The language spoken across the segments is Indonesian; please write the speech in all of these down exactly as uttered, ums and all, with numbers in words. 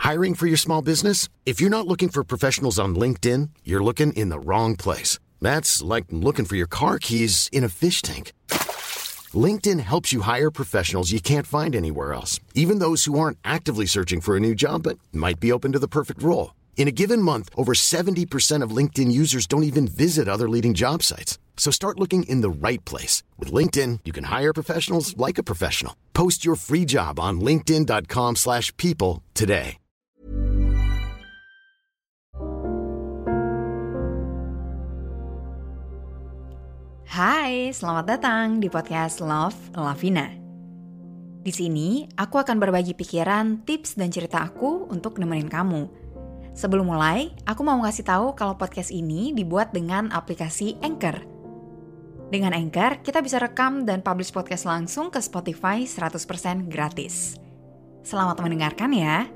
Hiring for your small business? If you're not looking for professionals on LinkedIn, you're looking in the wrong place. That's like looking for your car keys in a fish tank. LinkedIn helps you hire professionals you can't find anywhere else, even those who aren't actively searching for a new job but might be open to the perfect role. In a given month, over seventy percent of LinkedIn users don't even visit other leading job sites. So start looking in the right place. With LinkedIn, you can hire professionals like a professional. Post your free job on linkedin.com slash people today. Hai, selamat datang di podcast Love Lavina. Di sini, aku akan berbagi pikiran, tips, dan cerita aku untuk nemenin kamu. Sebelum mulai, aku mau ngasih tahu kalau podcast ini dibuat dengan aplikasi Anchor. Dengan Anchor, kita bisa rekam dan publish podcast langsung ke Spotify seratus persen gratis. Selamat mendengarkan ya.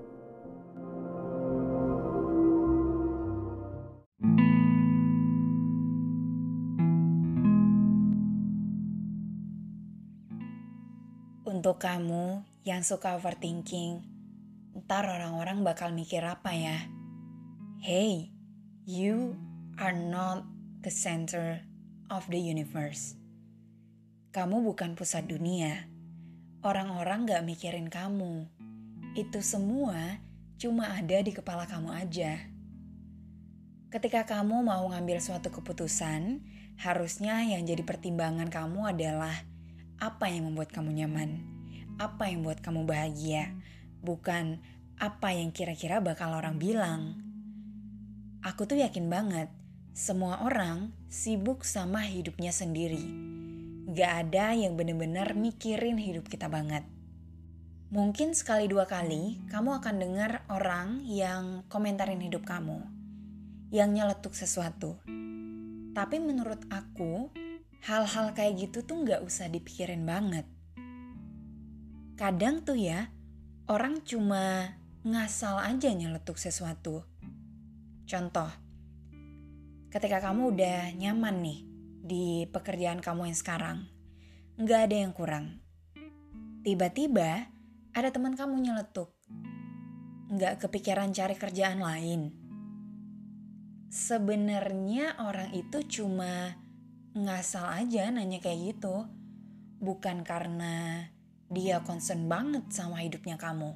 Untuk kamu yang suka overthinking, ntar orang-orang bakal mikir apa ya? Hey, you are not the center of the universe. Kamu bukan pusat dunia. Orang-orang gak mikirin kamu. Itu semua cuma ada di kepala kamu aja. Ketika kamu mau ngambil suatu keputusan, harusnya yang jadi pertimbangan kamu adalah apa yang membuat kamu nyaman, apa yang membuat kamu bahagia, bukan apa yang kira-kira bakal orang bilang. Aku tuh yakin banget, semua orang sibuk sama hidupnya sendiri. Gak ada yang bener-bener mikirin hidup kita banget. Mungkin sekali dua kali kamu akan dengar orang yang komentarin hidup kamu, yang nyeletuk sesuatu. Tapi menurut aku, hal-hal kayak gitu tuh gak usah dipikirin banget. Kadang tuh ya, orang cuma ngasal aja nyeletuk sesuatu. Contoh, ketika kamu udah nyaman nih di pekerjaan kamu yang sekarang, gak ada yang kurang. Tiba-tiba ada teman kamu nyeletuk, gak kepikiran cari kerjaan lain. Sebenarnya orang itu cuma ngasal aja nanya kayak gitu, bukan karena dia concern banget sama hidupnya kamu.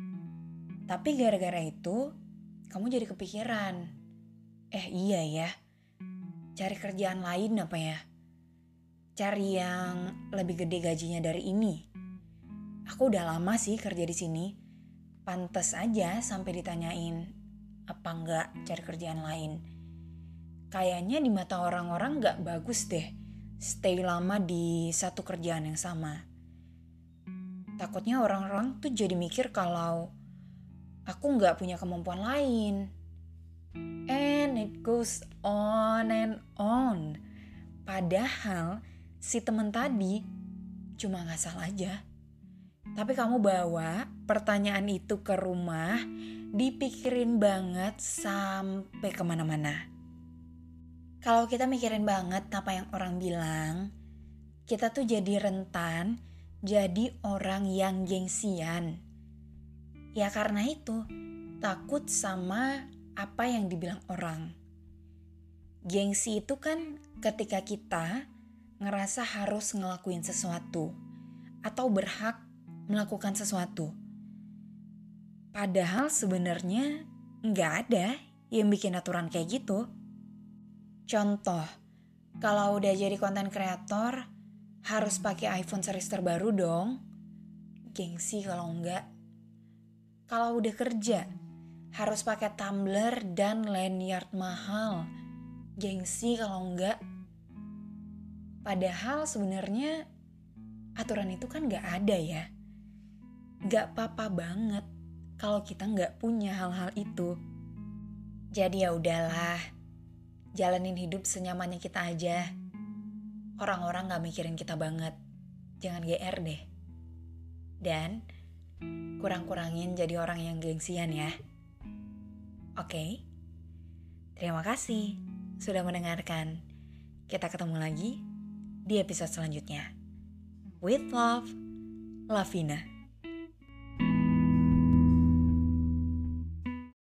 Tapi gara-gara itu, kamu jadi kepikiran, eh iya ya, cari kerjaan lain apa ya? Cari yang lebih gede gajinya dari ini. Aku udah lama sih kerja di sini, pantes aja sampai ditanyain, apa enggak cari kerjaan lain. Kayaknya di mata orang-orang gak bagus deh stay lama di satu kerjaan yang sama. Takutnya orang-orang tuh jadi mikir kalau aku gak punya kemampuan lain. And it goes on and on. Padahal si temen tadi cuma ngasal aja. Tapi kamu bawa pertanyaan itu ke rumah, dipikirin banget sampai kemana-mana. Kalau kita mikirin banget apa yang orang bilang, kita tuh jadi rentan, jadi orang yang gengsian. Ya karena itu, takut sama apa yang dibilang orang. Gengsi itu kan ketika kita ngerasa harus ngelakuin sesuatu atau berhak melakukan sesuatu. Padahal sebenarnya nggak ada yang bikin aturan kayak gitu. Contoh, kalau udah jadi konten kreator, harus pakai iPhone series terbaru dong. Gengsi kalau enggak. Kalau udah kerja, harus pakai tumbler dan lanyard mahal. Gengsi kalau enggak. Padahal sebenarnya aturan itu kan enggak ada ya. Enggak apa-apa banget kalau kita enggak punya hal-hal itu. Jadi ya udahlah. Jalanin hidup senyamannya kita aja. Orang-orang gak mikirin kita banget. Jangan G R deh. Dan kurang-kurangin jadi orang yang gengsian ya. Oke? Terima kasih sudah mendengarkan. Kita ketemu lagi di episode selanjutnya. With love, Lavina.